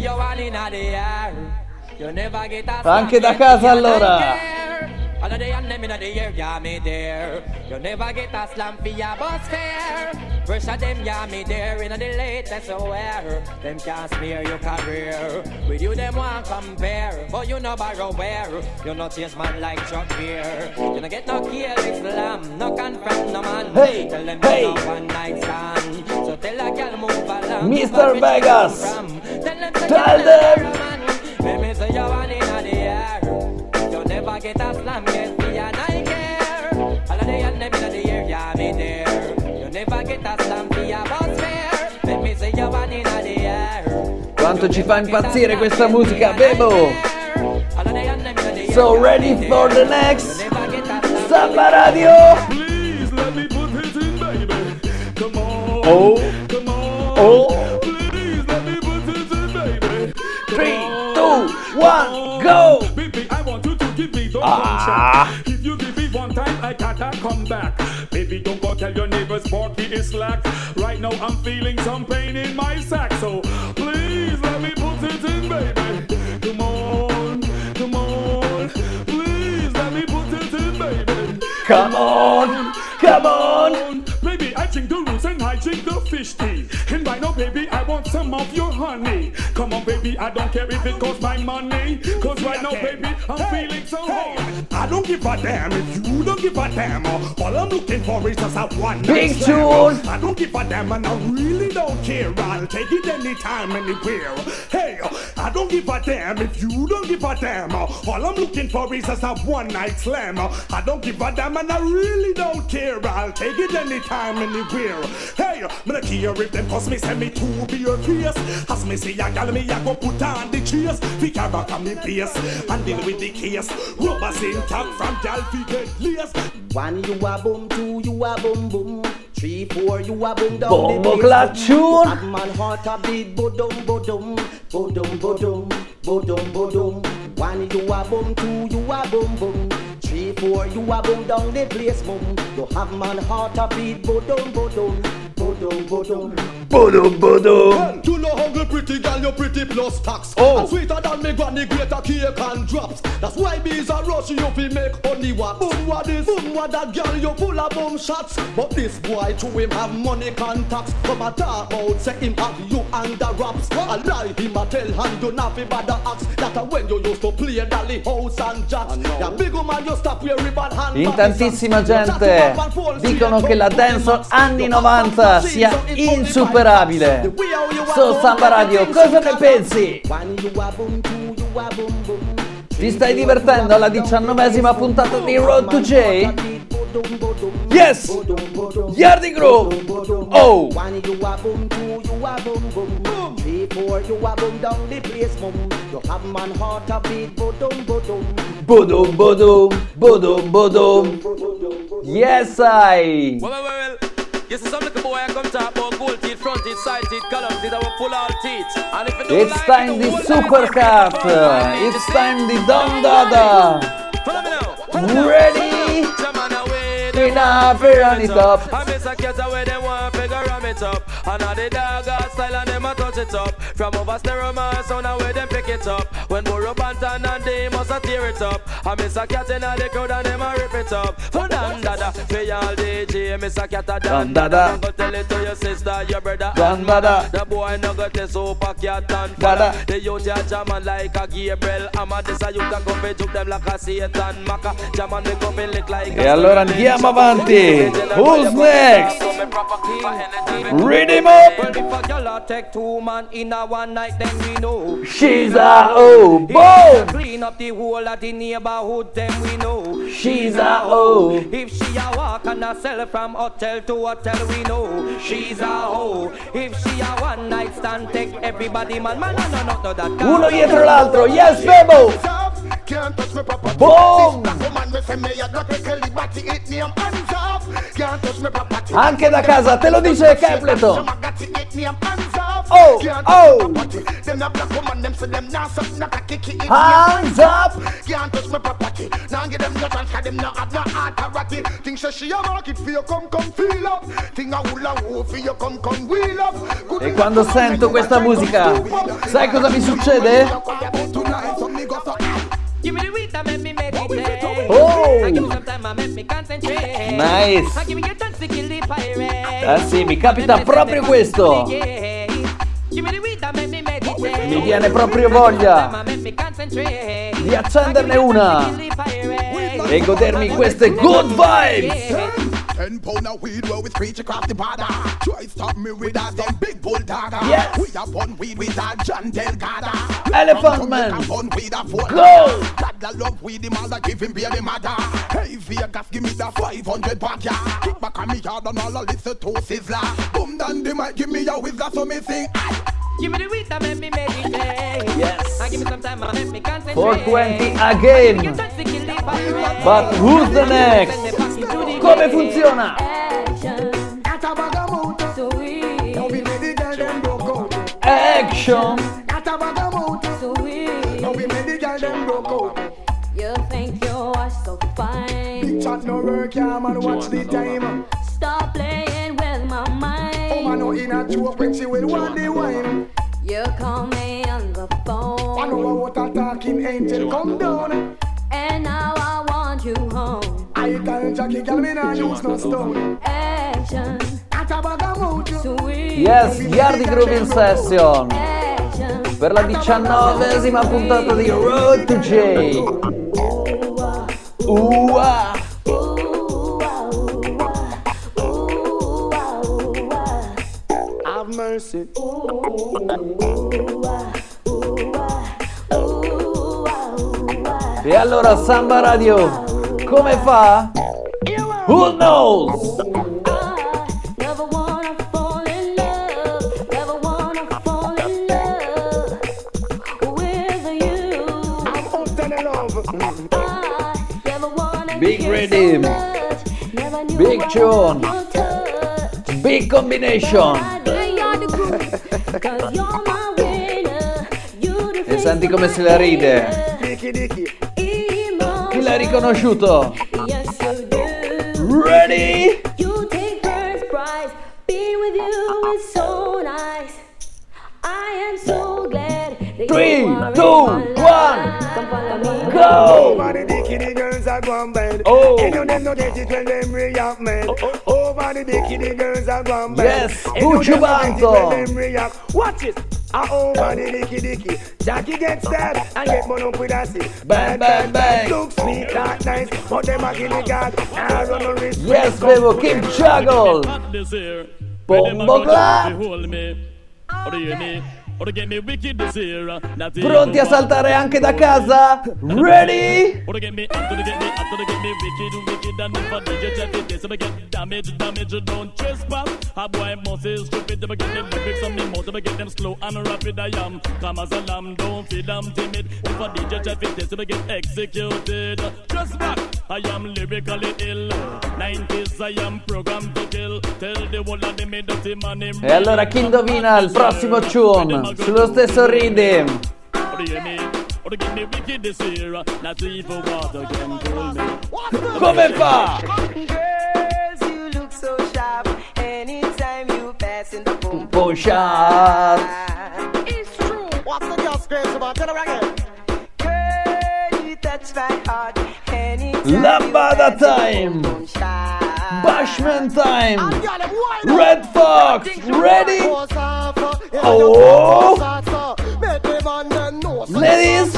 Anche da casa allora. All day and them in the air, yeah, me there. You never get a slam for your bus fare. Pressure them, yeah, me there. In the latest wear, them can't smear your career. With you, them won't compare. But you no borrow where. You no chase man like Chuck Beer. You no get no careless slam, no confront no man. Hey, tell them hey. you no one night stand. So tell a girl move along. Mr. Vegas, tell them. Let me say you one in the air. You never get a slam, yes, me and I care. All of the and them in the air, yeah, me there. You never get a slam, for your bus fare. Let me say you one in the air. Quanto ci fa impazzire questa musica, Bebo. So ready for the next Samba Radio. Please let me put it in, baby. Come on. Oh. Come on. Oh. Please let me put it in, baby. 3, 2, 1, go. Baby, I want you to give me the contract. If you give me one time, I can't come back. Baby, don't go tell your neighbors Porky is slack. Right now I'm feeling some pain in my sack. So please let me put it in, baby. Come on, come on. Please let me put it in, baby. Come on, come on. Baby, I drink the roots and I drink the fish tea. And right now, baby, I want some of your honey. Come on, baby, I don't care if it costs my money. Cause right now, baby, I'm feeling so hot. I don't give a damn if you don't give a damn. All I'm looking for is just a one big tune. I don't give a damn and I really don't care. I'll take it anytime, anywhere. Hey, I don't give a damn if you don't give a damn. All I'm looking for is just a one night slam. I don't give a damn and I really don't care. I'll take it anytime, anywhere. Hey, me not care if them cause me send me to be your face. As me say, I got me, I go put on the chase. We can back on me base and deal with the case. Rubbers in cap from Calfi get lace. 1 you a boom, 2 you a boom boom, 3, 4 you a boom down Bombo Clacciun. Bad man heart a beat bodum bodum, bodum bodum, bodum bodum. 1 you a boom, 2 you a boom boom, 3, 4 you a boom down the place boom. You have man heart a beat bodum bodum, Bodum bodum. You know hungry pretty girl, you pretty plus tax. Oh. And sweeter than me granny, greater cake and drops. That's why bees are rush you fi make honey wax. Boom what this, boom what that girl, you full of boom shots. But this boy to him have money contacts. Come a talk about say him have you under wraps. I lie him a tell and do not fi bother axe. That when you used to play Dolly House and Jacks. Ya big woman you stop your ribbon hand. In tantissima gente dicono che la dancehall anni 90 sia insuperabile. So Samba Radio, cosa ne pensi? Ti stai divertendo alla 19ª puntata di Road to J? Yes! Yardi Groove! Oh! Bodum bodum, bodum bodum. Yes I! Well. You see some little boy I come talk about gold teeth, front teeth, side teeth, column teeth, I will pull all teeth. And if you don't It's time di Supercat! It's time di Don Dada! Ready? Enough, run it up. I miss a cat away, they want figure ram it up. And all the dog got style and them a touch it up. From over stereo man sound and where them pick it up. When Burro Bantan and they must a tear it up. I miss a cat in all the crowd and them a rip it up. For Don Dada, for y'all DJ, miss a cat a Don Dada. Go tell it to your sister, your brother, Don Dada. The boy no got a super cat and Dada. The youth ya jamming like a Gabriel. I'm a this a youth a come fi juke them like a Satan Maka. Jamming me come fi lick like a E allora andiamo avanti. Who's next? Read him up. Well, if a girl take two man in a one night, then we know She's a oh boom. Clean up the whole of the neighborhood, then we know She's a oh. If she a walk and a sell from hotel to hotel, we know she's a hoe. If she a one night stand, take everybody man, no that. Uno dietro l'altro. Yes, Bebo. Boom. Anche da casa te lo dice Capleton. Oh, oh. Hands up. E quando sento questa musica, sai cosa mi succede? Oh! Nice! Ah sì, mi capita proprio questo! Mi viene proprio voglia di accenderne una e godermi queste good vibes! 10 pound of weed where we screech across the border. Try stop me with that some big bull dagger. Yes. We have fun weed with that John Delgado. Elephant Man. Go. God love weed him all that give him baby mother. Hey Vegas give me the 500 back ya. Kick back on me yard and all I listen to Sizzla. Boom down the mic give me a whistler so me sing. Give me the weed that make me meditate. Yes. I give me some time and make me concentrate. 420 again. But who's the next? Come funziona? Action. You think you are so fine. Big chat no work, yeah, man, watch the time. Stop playing with my mind. Oh, man, no in a joke when she will want the wine. You call me on the phone. I know what a talking angel come down. And now I want you home. I tell Jackie, girl, me nah use no stone. Action. Yes, Yardi Groove in Session. Per la 19ª puntata di Road to J. Have mercy. E allora Samba Radio, come fa? Who knows? Big rhythm, big tune, big combination. E senti come se la ride. Chi l'ha riconosciuto? Ready? 2, 1, go! Over the dicky, the girls are going bad. Oh. And you them no get it when them react, man. Over the dicky, the girls are going bad. Yes, And you them no get it Bucciubanto. when them react. Watch it. Over the dicky. Jackie gets stabbed and get one up with a stick. Bang, bang, bang. Look sweet, that nice, but them a guinea god. I run a risk. Yes, Bebo, keep juggle! Bomboclat! Pronti a saltare anche da casa? Ready? I am lyrically ill. 90s I am programmed to kill. Tell the world that they made dirty money. E allora chi indovina il prossimo tune? Sullo stesso rhythm. Come fa? Girls, you look so sharp. Anytime you pass in the boom boom shot. It's true. What's the girl screams about? Tell her again. Girl, you touch my heart. Lambada time. Bashman time. Red Fox, ready? Oh! Ladies!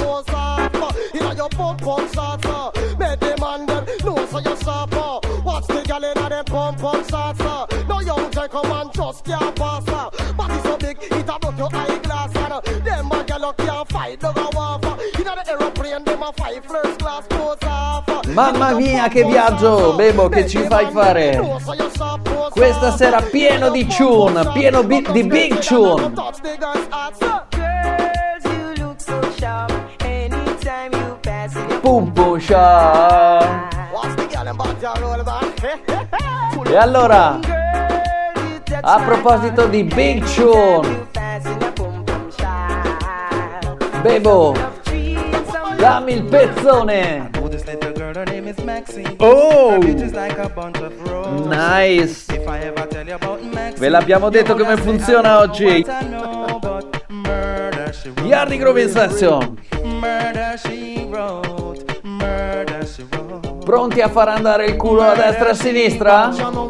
Watch the gal inna them pump shots. No young gentleman just can't pass. Body so big, it a broke your eyeglass. Them a gal can't fight, no go off. Inna the aeroplane, them a fight first class pose off. Mamma mia che viaggio, Bebo, che ci fai fare? Questa sera pieno di tune, pieno di big tune. Boom boom shot. E allora, a proposito di big tune, Bebo, dammi il pezzone. Oh, nice. Ve l'abbiamo detto come funziona oggi. Yardi Groove Session. Pronti a far andare il culo a destra e a sinistra?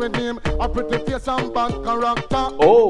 Oh.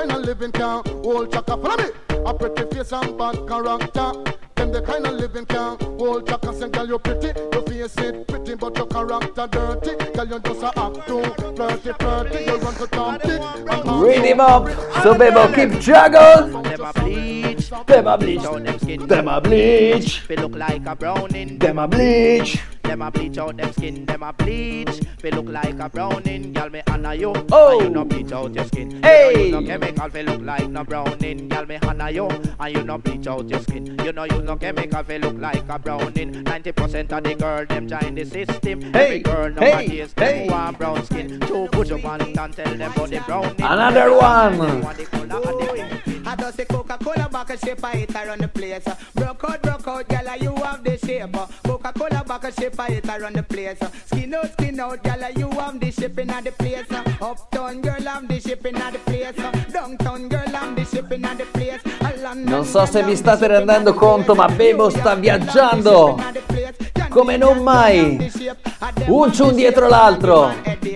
Them the kind of living can hold your and girl you pretty. Your face it pretty but your character dirty. Girl you just a act too flirty. You run to Tom Dick. Read him up. So Bebo, keep juggle. Them a bleach. Them a bleach. Them a bleach. They look like a browning. Them a bleach. Them a bleach out them skin. Them a bleach. They look like a browning. Girl me honor you. Oh. And you no bleach out your skin. Hey. You know chemical. They look like no browning. Girl me honor you. And you no bleach out your skin. You know no chemical. They look like a browning. 90% of the girl them join the system. Hey. Every girl nowadays them want brown skin. So put your one and tell them about the browning. Another one. I just say Coca-Cola back a shape I hit around the place. Broke out, gala, you have the shape. Coca-Cola back a shape I hit around the place. Skin out, gala, you have the shipping at the place. Uptown girl, I'm the shipping at the place. Downtown girl, I'm the shipping at the place. Non so se vi state rendendo conto, ma Bebo sta viaggiando come non mai. Un tune dietro l'altro.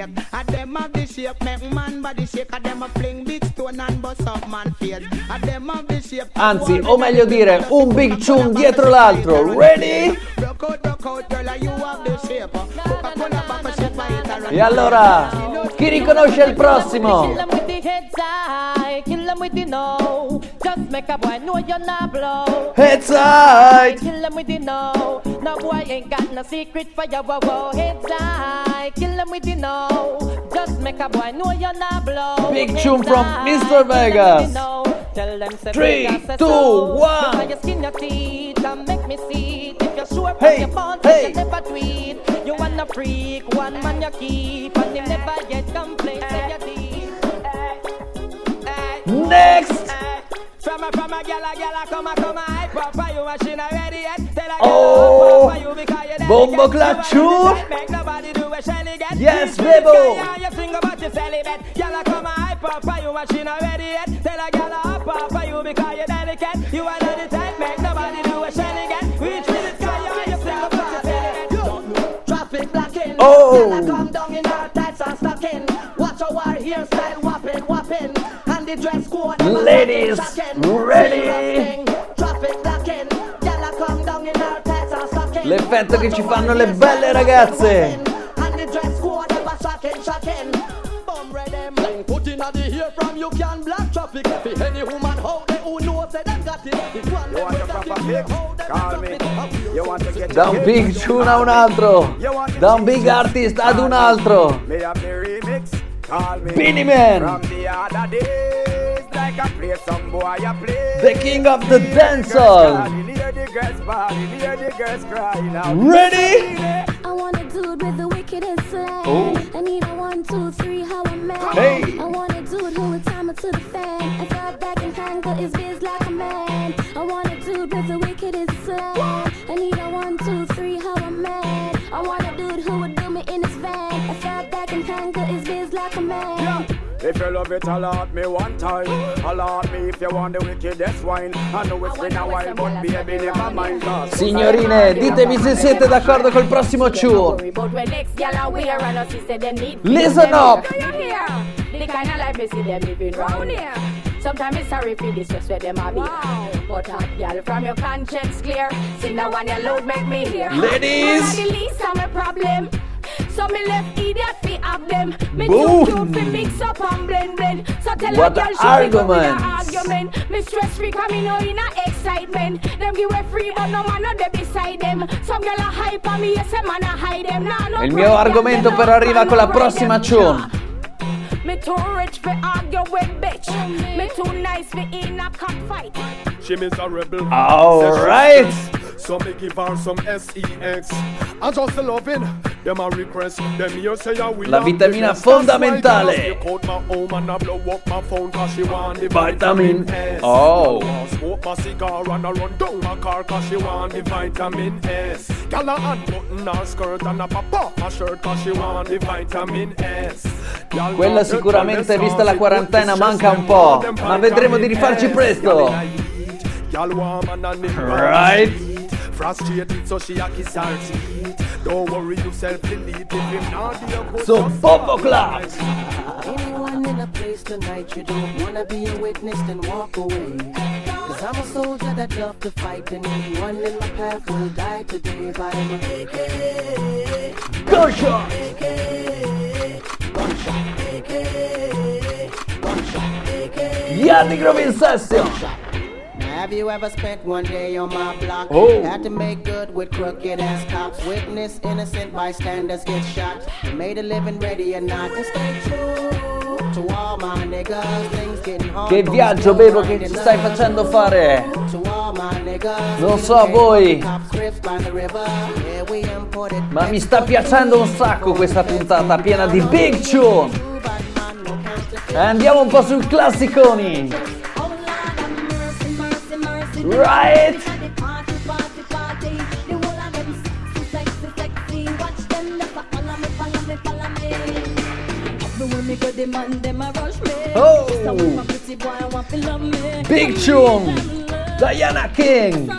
Anzi, o meglio dire, un big tune dietro l'altro. Ready? E allora, chi riconosce il prossimo? Kill them with the no. Just make a boy know you're not blow. Heads high. Kill them with the no. No boy ain't got no secret for your wow. Heads high. Kill them with the no. Just make a boy know you're not blow. Big tune from Mr. Vegas. Tell them 3, 2, 1. You skin your teeth and make me see it. If you're sure Hey, your bond, hey. you never tweet. You wanna freak, one man you keep, and you never yet complain. Say you deep. Next. From a gala, come a hype up for you machine already yet. Tell a Oh, for you because you Bomboclat tune. Make nobody do a shelly get. Yes, Bebo. You sing about your celibate. Gala come a hype hype up for you, machine already yet. Tell a girl to hop up for you because you're delicate. You are not the type, make nobody do a shell again. Reach for the sky, you and yourself, but you feel it. Traffic blocking. Oh. Girl, come down in her tights and stocking. Watch our hairstyle whopping, whopping. And the dress code. Ladies, ready? Traffic blocking. Girl, come down in her tights and stocking. L'effetto che ci fanno le belle ragazze. And the dress code ever shocking, shocking. Bum ready, man. Put in the ear from you can block traffic. For any woman out there who knows that they got it. If one You want your proper fix? Call me. You want to get Da un big tune a un altro, da un big artist ad un altro. Me have the remix. Call me. Beanie Man. From the other days, like I play some boy, I play. The king of the dancehall. Hear the girls bawling, hear the girls crying out. Ready? I want a dude with the wickedest slang. Oh. I need a 1, 2, 3, how a man. Hey. I want a dude who would time it to the fan. I thought back and handle his biz like a man. I want a dude with the wickedest slang. I need a 1, 2, 3, how a man. I want a dude who would do me in his van. I thought back and handle his biz like a man. If you love it, allot me one time. Allot me if you want the wickedest wine. I know it's been a while, but baby, never mind. Signorine, ditemi se siete d'accordo col prossimo tune. Listen up. The kind of life you see them living round here. Sometimes it's sorry for this just where them a be. But hot girl from your conscience clear. Sing that one you load make me hear. Ladies. One of the least of my problem. So me left idiot fi have them. Me Boom. too cute fi mix up and blend. So tell What a girl the she fi go with arguments. a argument. Me stress free cause me know in a excitement. Them give way free but no man no dey beside them. Some girl a hype on me, yes a man a hide them. Nah, no Il mio problem, argomento them però no arriva man con la no prossima ride them. tune. Me too rich for argue with bitch. Me too nice for in a cockfight. She miserable. Alright. So me give her some sex. And just the loving. Them a request. Them here say I will. La vitamina fondamentale. Call my home and I blow up my phone cause she want the Vitamin. vitamin S. Oh. Smoke my cigar and I run down my car cause she want the vitamin S. Gyal a unbutton her skirt and a pop off my shirt cause she want the vitamin S. Gyal Quella sicuramente, vista la quarantena, manca un po', ma vedremo di rifarci presto. Right? Frustrated so she a kiss her teeth. Don't worry yourself, delete if him not be a good. So Bobo Class. Anyone in a place tonight you don't wanna be a witness, then walk away. Cause I'm a soldier that love to fight, and anyone in my path will die today by my AK. Gunshot! Yardi Groove in session. Have you ever spent one day on my block? Oh. Had to make good with crooked ass cops. Witness innocent bystanders get shot. Made a living ready or not. And stay true to all my niggas. Things getting hard. Che viaggio, Bebo, che ci stai facendo fare? Non so a voi, ma mi sta piacendo un sacco questa puntata piena di big tune. Andiamo un po' sul classiconi. Right? Oh! Big tune! Diana King!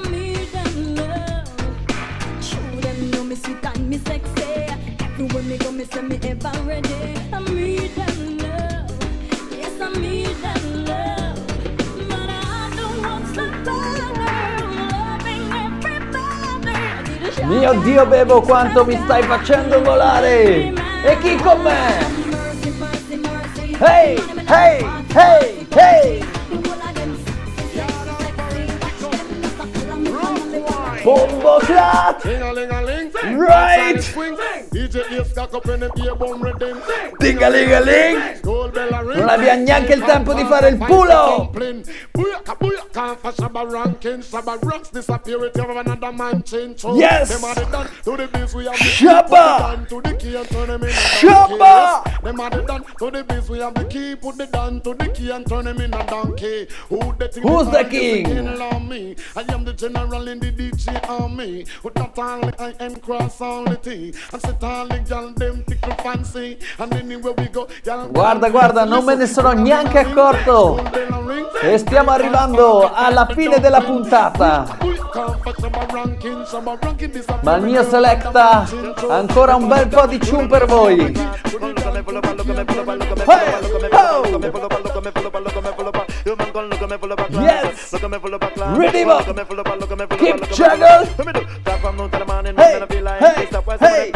Mio Dio, Bebo, quanto mi stai facendo volare! E chi con me? Hey, hey, hey, hey! Bombo Clat! Right! Dingalingaling! Non abbiamo neanche il tempo di fare il pulo! Yes! Shabba! Shabba! Who's the king? I am the general in the DJ army. With that all I and cross all the thing. I sit all the girl them tickle fancy. And anywhere we go, girl. Guarda guarda, non me ne sono neanche accorto. E stiamo arrivando alla fine della puntata. Ma il mio Selecta ha ancora un bel po' di tune per voi. Yes! Redeem up! Keep juggle! Hey! Hey! Hey!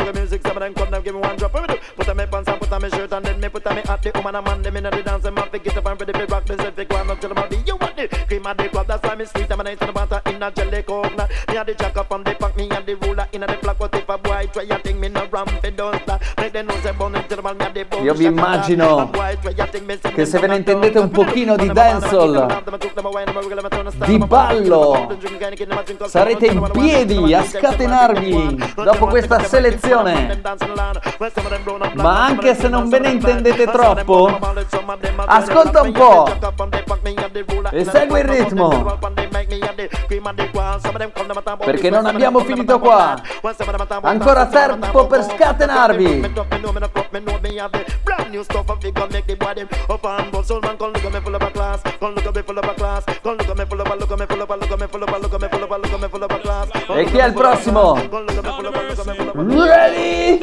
Io vi immagino che se ve ne intendete un pochino di dancehall, di ballo, sarete in piedi a scatenarvi dopo questa selezione. Ma anche se non ve ne intendete troppo, ascolta un po' e segui il ritmo, perché non abbiamo finito qua. Ancora tempo per scatenarvi. E chi è il prossimo? Ready?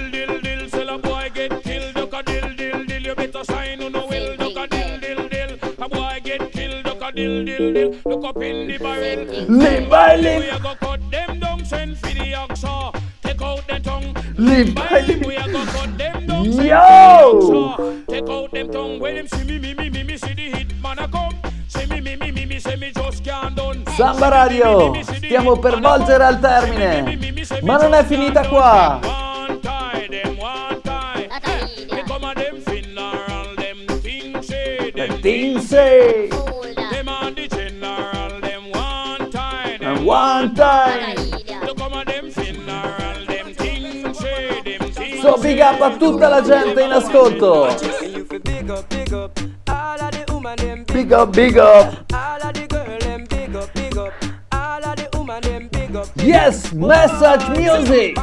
Look up in the barrel. Live by live. We are go cut them down, send for the oxa. Take out the tongue. Live by live. We are go cut them down, send Yo! for the oxa. Take out them tongue. When them see me, see the hit man a come. Say me, say me just can't done. Samba Radio, stiamo per volgere al termine, ma non è finita qua. One tie, them one tie. They come a them funeral, them things say, them Things say. them on the general, them one tie, them One time. Look come a them funeral, them things say, them things So big up a tutta la gente in ascolto. Big up, big up. All of the woman them Big up, big up. all of the girl them big up, big up. All of the woman them big up. Yes, message music.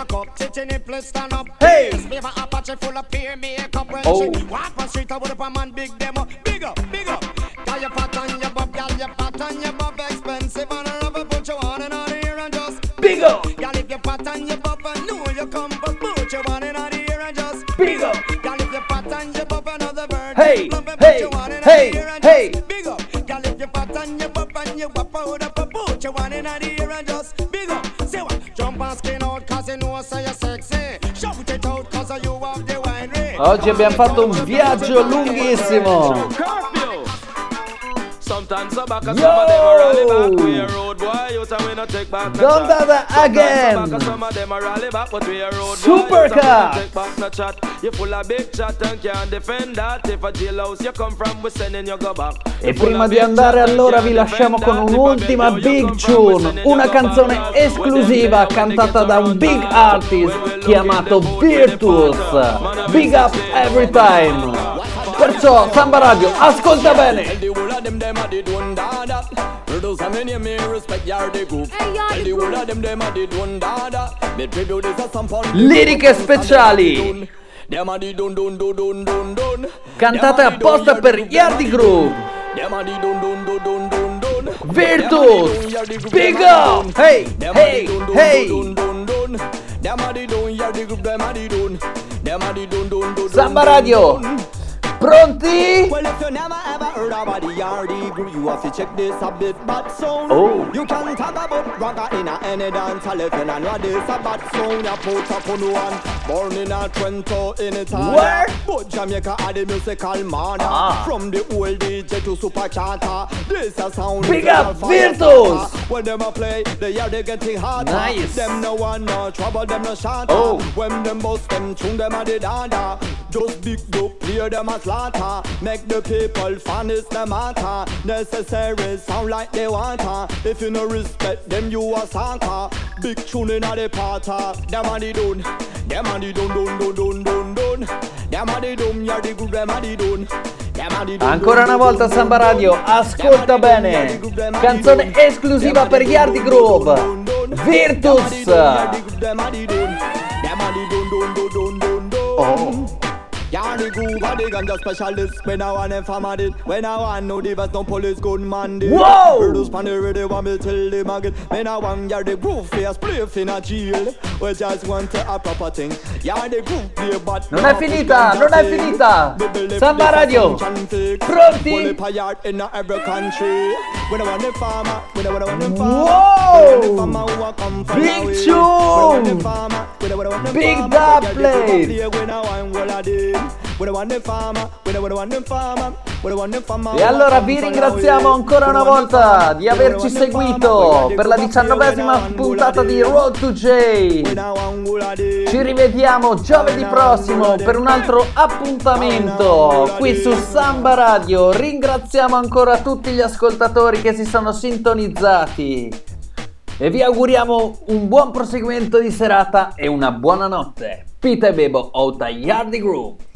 Hey. Oh. Walk on street, I would up a man, big demo. Big up, big up. Got your fat on your bob, gal, your fat on your bob, expensive and I never put you on and on here and just Big up. Gal, if your fat on your bob, I know you come, but put you on and on here and just Big up. Gal, if your fat on your bob, another bird. Hey, lump and hey, put you on and hey, on here and hey. just big up. Gal, if your fat on your bob and you wap out up, put you on and on here and just big up. Say what? Jump and skin out, cause you know so you're sexy. Shout it out, cause you have the wine rate. Oggi abbiamo fatto un viaggio lunghissimo. Sometimes I back, some of them are rally back. We a road boy, you tell me not take back. Don't do that again. Some of them are rally back, but we a road Super boy. car. Take back no chat. You full of big chat and can't defend that. If a jailhouse you come from, we sending you go back. E prima di andare allora vi lasciamo con un'ultima big tune, una canzone esclusiva cantata da un big artist chiamato Virtus. Big up every time. Perciò Samba Radio, ascolta bene. Liriche speciali cantate apposta per Yardi Groove. Virtus, big up. Hey, hey, hey. Samba Radio, pronti? Well, if you never ever heard about the Yardi Groove, you have to check this a bit bad sound. Oh. You can talk about rocker in any dance hall if you know what this a bad sound. You put up on one, born in a Trento in Italy. Where? But Jamaica are the musical man. From the old DJ to super charter, this a sound. Big up Virtus. When them a play, the Yardi getting harder. Nice. Them no one no trouble, them no shatter. Oh. When them bust them tune, them a the dada. Just big up, clear them a slaughter. Make the people fun is the matter. Necessary sound like they want her. If you no respect them, you a soccer. Big tune in the parter. Them a the done. Them a the done. Them a the done. You're the good. Them a the done. Ancora una volta Samba Radio, ascolta bene. Canzone esclusiva per Yardi Groove. Virtus. Oh. the groove and the ganja specialist. When I want them farmer did, when I want no divas, no police good man did. Whoa! Produce pan the ready, want me tell them again. When I want ya the groove face, play in a jail. We just want a proper thing. Ya the groove play but non è finita, non è finita. Samba Radio, pronti? Wow! Big tune! Big dub plate! E allora vi ringraziamo ancora una volta di averci seguito per la 19esima puntata di Road to J. Ci rivediamo giovedì prossimo per un altro appuntamento qui su Samba Radio. Ringraziamo ancora tutti gli ascoltatori che si sono sintonizzati e vi auguriamo un buon proseguimento di serata e una buona notte. Pita e Bebo Outa Yardi Group.